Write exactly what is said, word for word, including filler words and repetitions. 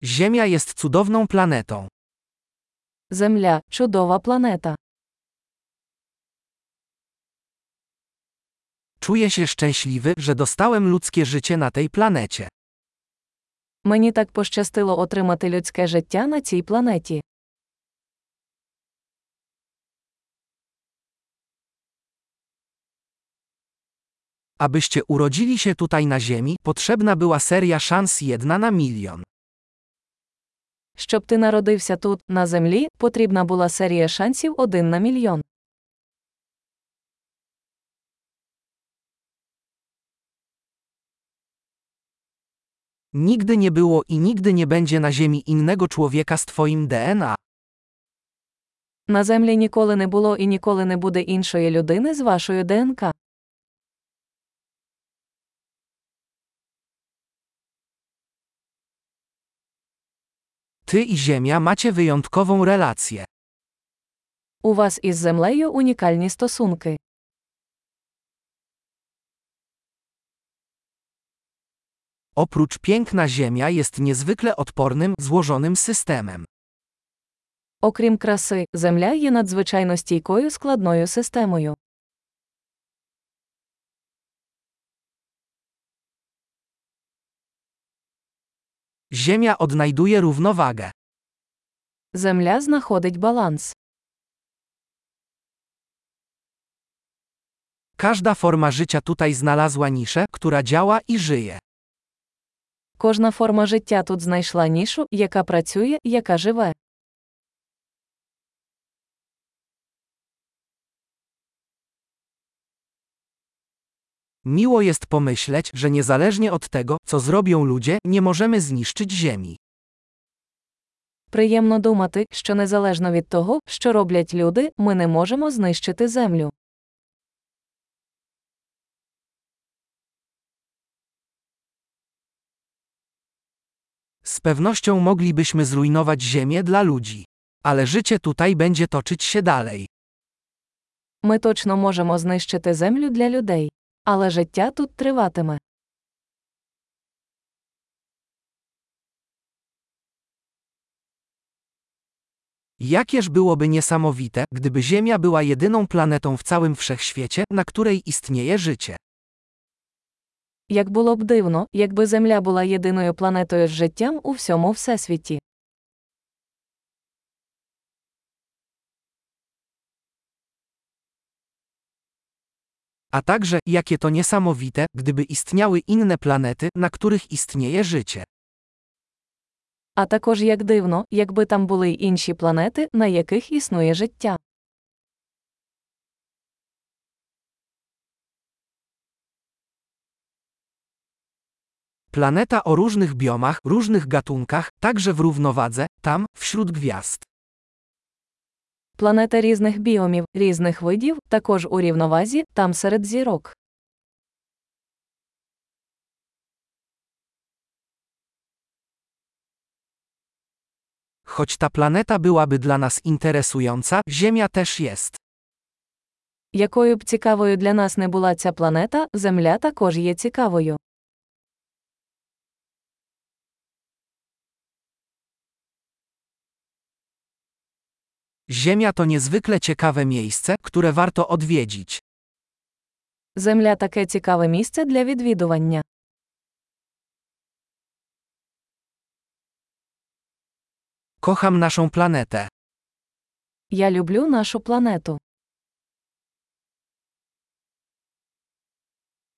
Ziemia jest cudowną planetą. Земля – чудова планета. Czuję się szczęśliwy, że dostałem ludzkie życie na tej planecie. Мені так пощастило отримати людське життя на цій планеті. Abyście urodzili się tutaj na Ziemi, potrzebna była seria szans jedna na milion. Щоб ти народився тут, на Землі, потрібна була серія шансів один на мільйон. Nigdy nie było i nigdy nie będzie na Ziemi innego człowieka z twoim D N A. На Землі ніколи не було і ніколи не буде іншої людини з вашою ДНК. Ty i Ziemia macie wyjątkową relację. У вас із Землею унікальні стосунки. Oprócz piękna Ziemia jest niezwykle odpornym, złożonym systemem. Окрім краси, Земля є надзвичайно стійкою складною системою. Ziemia odnajduje równowagę. Земля знаходить баланс. Każda forma życia tutaj znalazła niszę, która działa i żyje. Кожна форма життя тут знайшла нішу, яка працює, яка живе. Miło jest pomyśleć, że niezależnie od tego, co zrobią ludzie, nie możemy zniszczyć Ziemi. Приємно думати, що незалежно від того, що роблять люди, ми не можемо знищити Землю. Z pewnością moglibyśmy zrujnować Ziemię dla ludzi. Ale życie tutaj będzie toczyć się dalej. Ми точно можемо знищити Землю для людей. Але життя тут триватиме. Jakież byłoby niesamowite, gdyby Ziemia była jedyną planetą w całym wszechświecie, na której istnieje życie. Як було б дивно, якби Земля була єдиною планетою з життям у всьому всесвіті. A także, jakie to niesamowite, gdyby istniały inne planety, na których istnieje życie. А також як дивно, якби там були й інші планети, на яких існує життя. Planeta o różnych biomach, różnych gatunkach, także w równowadze, tam, wśród gwiazd. Планета різних біомів, різних видів, також у рівновазі, там серед зірок. Choć ta planeta byłaby dla nas interesująca, Ziemia też jest. Якою б цікавою для нас не була ця планета, Земля також є цікавою. Ziemia to niezwykle ciekawe miejsce, które warto odwiedzić. Земля – таке цікаве місце для відвідування. Kocham naszą planetę. Я люблю нашу планету.